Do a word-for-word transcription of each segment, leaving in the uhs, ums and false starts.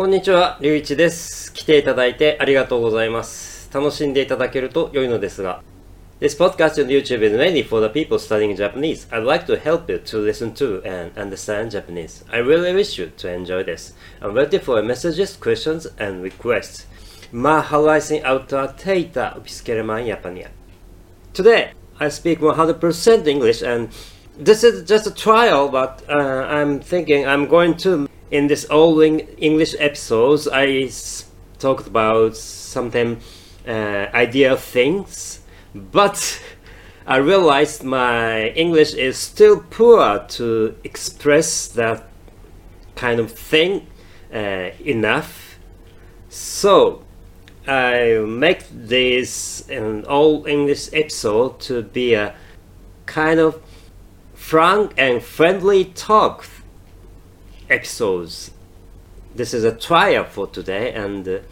こんにちは、りゅういちです。来ていただいてありがとうございます。楽しんでいただけると良いのですが。This podcast on YouTube is mainly for the people studying Japanese. I'd like to help you to listen to and understand Japanese. I really wish you to enjoy this. I'm ready for messages, questions, and requests. Mahalaising auta teita upiskeleman Japania. Today, I speak one hundred percent English, and this is just a trial, but uh, I'm thinking I'm going to, in this all English episodes, I s- talked about something, uh, idea things, but I realized my English is still poor to express that kind of thing uh, enough. So I make this an all English episode to be a kind of frank and friendly talk episodes. This is a trial for today and uh,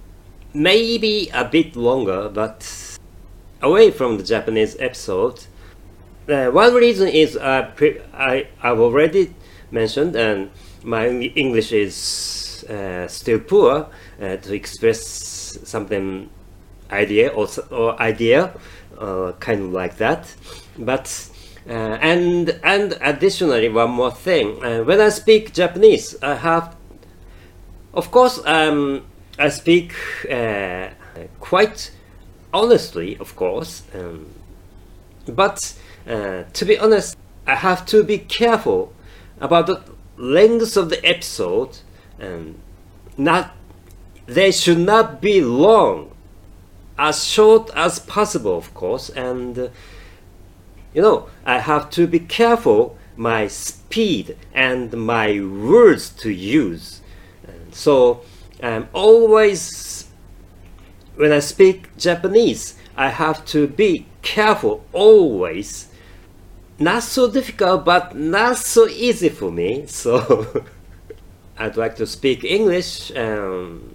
maybe a bit longer, but away from the Japanese episode. Uh, one reason is uh, pre- I, I've already mentioned, and my English is uh, still poor uh, to express something idea or, or idea, uh, kind of like that. But uh, and and additionally, one more thing. Uh, when I speak Japanese, I have, of course, um, I speak uh, quite honestly, of course, um, but uh, to be honest, I have to be careful about the length of the episode, and not they should not be long, as short as possible, of course, and uh, you know, I have to be careful my speed and my words to use. And so I'm always, when I speak Japanese, I have to be careful always. Not so difficult, but not so easy for me. So I'd like to speak English um,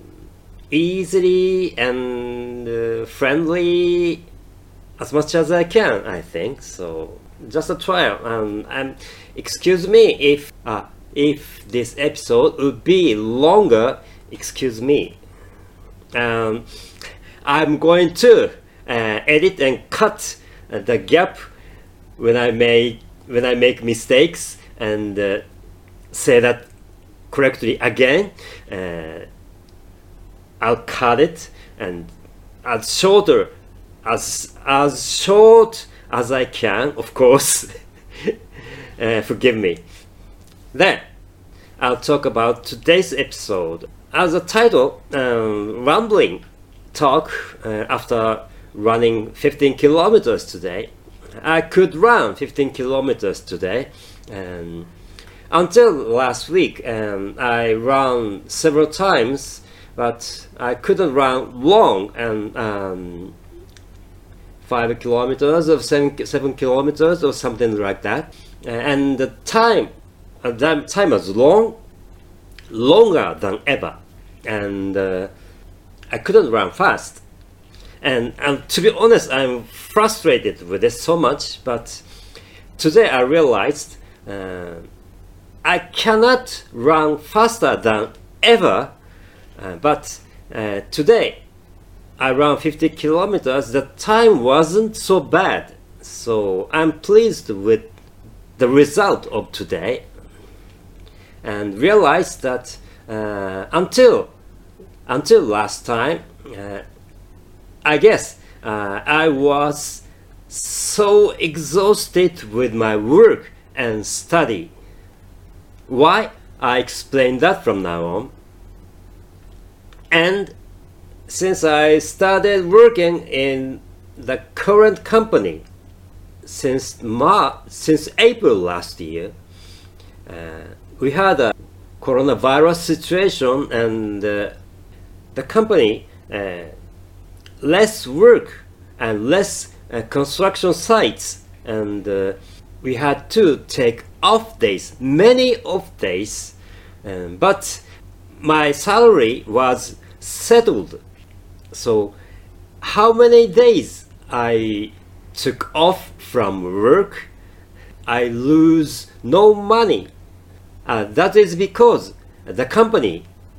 easily and uh, friendly as much as I can, I think. So just a trial. Um, and excuse me if uh, if this episode would be longer. Excuse me. Um, I'm going to uh, edit and cut uh, the gap when I make when I make mistakes and uh, say that correctly again. Uh, I'll cut it and as shorter as as short as I can, of course. uh, forgive me. Then I'll talk about today's episode. As a title, um, rambling talk uh, after running fifteen kilometers today. I could run fifteen kilometers today, and until last week um, I ran several times, but I couldn't run long, and um, five kilometers or seven, seven kilometers or something like that. And the time, uh, that time was long, longer than ever, and uh, I couldn't run fast. And, and to be honest, I'm frustrated with this so much, but today I realized uh, I cannot run faster than ever, uh, but uh, today I ran fifty kilometers, the time wasn't so bad, so I'm pleased with the result of today, and realized that uh, until until last time, uh, I guess uh, I was so exhausted with my work and study. Why? I explain that from now on. And since I started working in the current company since Mar- since April last year, uh, we had a coronavirus situation, and uh, the company uh, less work and less uh, construction sites, and uh, we had to take off days, many off days, um, but my salary was settled. So how many days I took off from work, I lose no money. Uh, that is because the company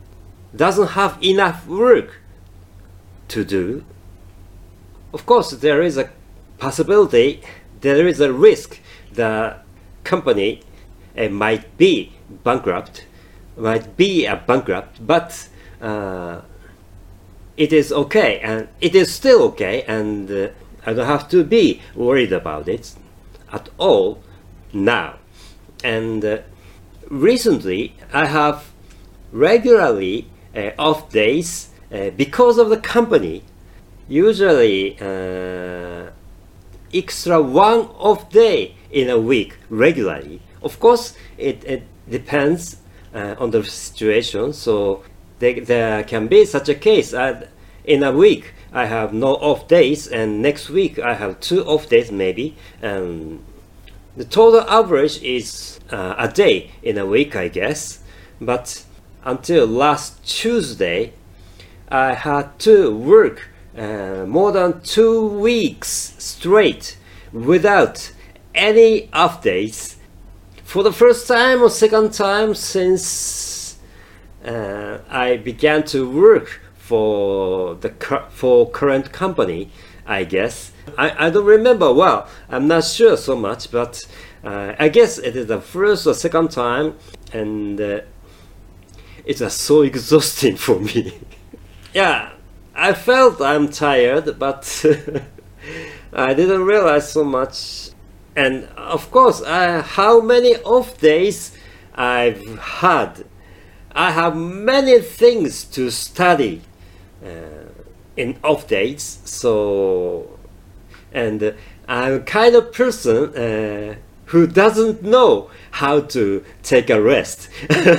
doesn't have enough work to do, of course there is a possibility, there is a risk the company uh, might be bankrupt, might be a bankrupt, but uh, it is okay, and it is still okay, and uh, I don't have to be worried about it at all now. And uh, recently I have regularly uh, off days uh, because of the company. Usually uh, extra one off day in a week regularly. Of course it, it depends uh, on the situation, so there, there can be such a case. Uh, in a week I have no off days, and next week I have two off days maybe, and the total average is uh, a day in a week, I guess. But until last Tuesday I had to work uh, more than two weeks straight without any off days for the first time or second time since uh, I began to work for the for current company, I guess. I, I don't remember well, I'm not sure so much, but uh, I guess it is the first or second time, and uh, it was so exhausting for me. Yeah, I felt I'm tired, but I didn't realize so much. And of course, uh, how many off days I've had. I have many things to study uh, in off days, so, and uh, I'm a kind of person uh, who doesn't know how to take a rest.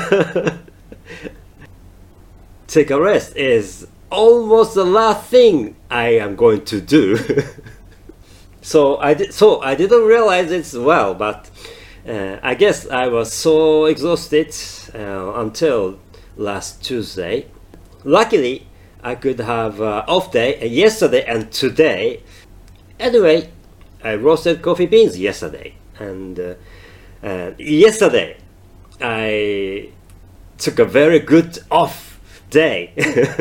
Take a rest is almost the last thing I am going to do. so I did. So I didn't realize it well, but uh, I guess I was so exhausted uh, until last Tuesday. Luckily, I could have uh, off day yesterday and today. Anyway, I roasted coffee beans yesterday, and uh, uh, yesterday I took a very good off day,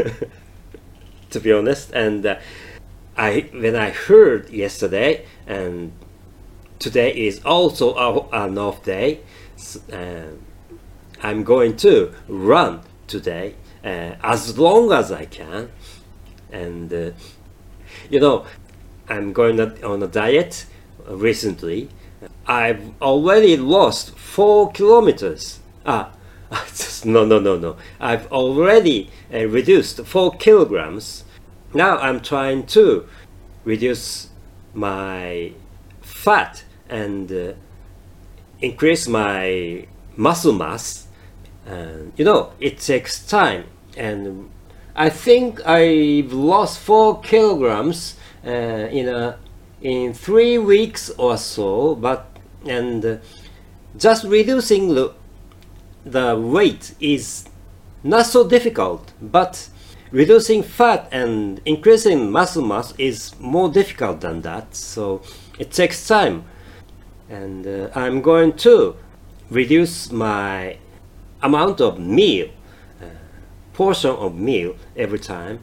to be honest. And uh, I when I heard yesterday, and today is also a, an off day, uh, I'm going to run today uh, as long as I can. And uh, you know, I'm going on a diet recently. I've already lost four kilometers. Ah, no, no, no, no. I've already uh, reduced four kilograms. Now I'm trying to reduce my fat and uh, increase my muscle mass. And you know, it takes time. And I think I've lost four kilograms uh, in a in three weeks or so. But and uh, just reducing the the weight is not so difficult, but reducing fat and increasing muscle mass is more difficult than that, so it takes time. And uh, I'm going to reduce my amount of meal, uh, portion of meal every time.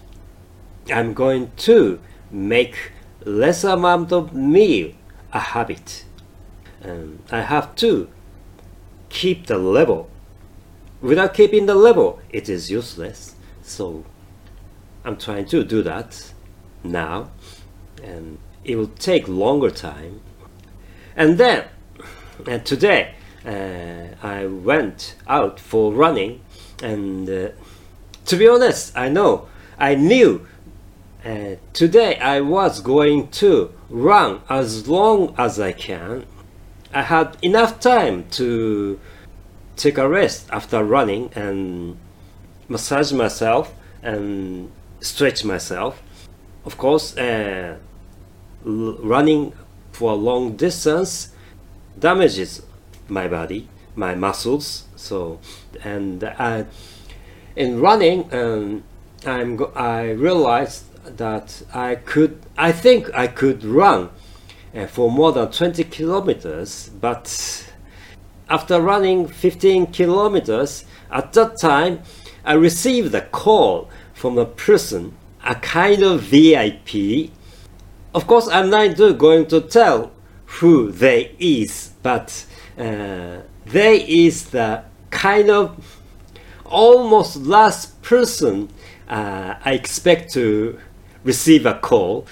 I'm going to make less amount of meal a habit. Um, I have to keep the level. Without keeping the level, it is useless. So I'm trying to do that now, and it will take longer time. And then and today uh, I went out for running, and uh, to be honest, I know I knew uh, today I was going to run as long as I can. I had enough time to take a rest after running and massage myself and stretch myself. Of course, uh, running for a long distance damages my body, my muscles. So, and uh, in running, um, I'm go I realized that I could, I think I could run uh, for more than twenty kilometers, but after running fifteen kilometers, at that time I received a call from a person, a kind of V I P. Of course, I'm not going to tell who they is, but uh, they is the kind of almost last person uh, I expect to receive a call.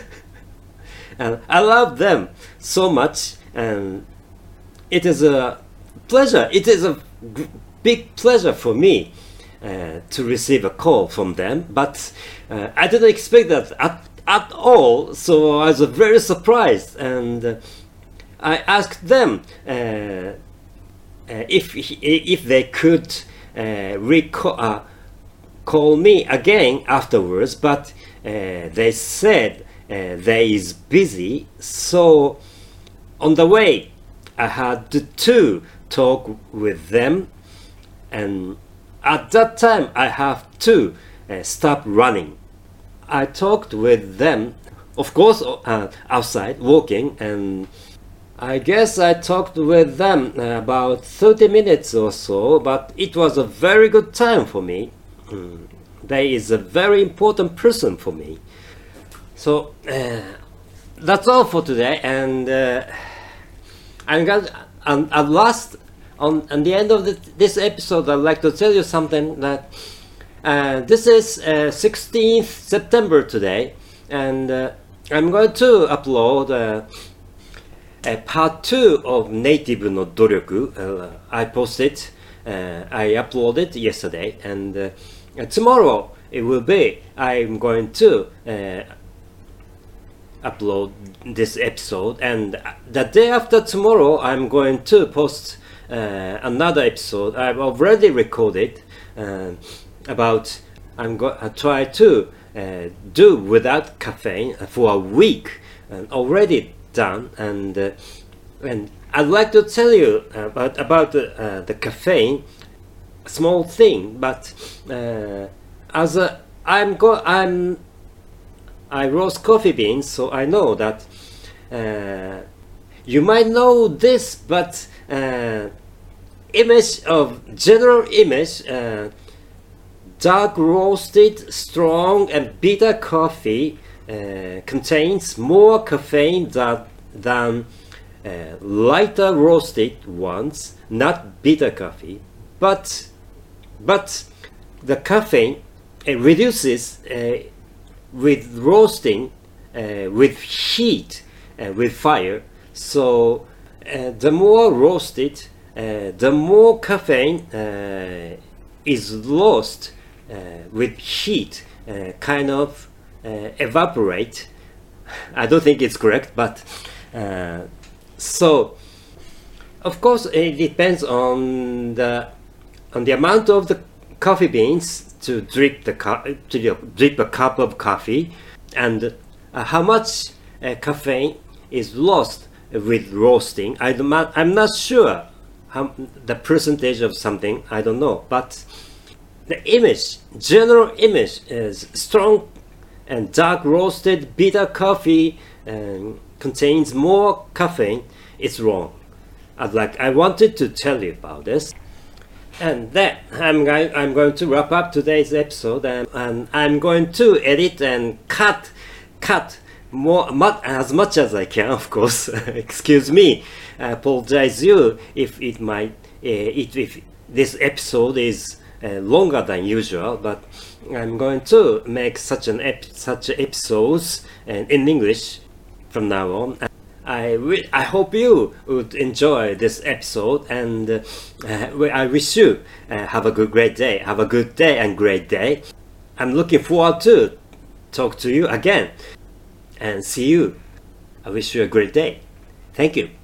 And I love them so much, and it is a pleasure. It is a g- big pleasure for me uh, to receive a call from them, but uh, I didn't expect that at, at all, so I was very surprised, and uh, I asked them uh, uh, if if they could uh, recall, uh, call me again afterwards, but uh, they said uh, they is busy, so on the way I had to talk with them, and at that time I have to uh, stop running. I talked with them, of course, uh, outside walking, and I guess I talked with them uh, about thirty minutes or so, but it was a very good time for me. Mm. They is a very important person for me. So uh, that's all for today, and uh, I'm going um, at last on, on the end of the, this episode, I'd like to tell you something that uh, this is uh, sixteenth September today, and uh, I'm going to upload uh, a part two of Native no Doryoku. Uh, I posted, uh, I uploaded yesterday, and uh, tomorrow it will be, I'm going to uh, upload this episode, and the day after tomorrow I'm going to post uh, another episode I've already recorded uh, about I'm going to try to uh, do without caffeine for a week, and already done, and uh, and I'd like to tell you about about uh, the caffeine, small thing, but uh, as a I'm go I'm I roast coffee beans, so I know that uh, you might know this, but uh, image of general image, uh, dark roasted, strong and bitter coffee uh, contains more caffeine that, than uh, lighter roasted ones, not bitter coffee, but but the caffeine uh, reduces uh, with roasting, uh, with heat, uh, with fire. So uh, the more roasted, uh, the more caffeine uh, is lost uh, with heat, uh, kind of uh, evaporate. I don't think it's correct, but uh, so of course it depends on the on the amount of the coffee beans to drip the cu- to drip a cup of coffee, and uh, how much uh, caffeine is lost with roasting. I'm not, I'm not sure how the percentage of something. I don't know, but the image, general image, is strong and dark roasted bitter coffee and contains more caffeine. It's wrong. I'd like I wanted to tell you about this. And then I'm going, I'm going to wrap up today's episode, and, and I'm going to edit and cut, cut more much, as much as I can, of course. Excuse me. I apologize you if it might, uh, if, if this episode is uh, longer than usual, but I'm going to make such an ep- such episodes and in English from now on. I, w- I hope you would enjoy this episode, and uh, uh, I wish you uh, have a good great day. Have a good day and great day. I'm looking forward to talk to you again and see you. I wish you a great day. Thank you.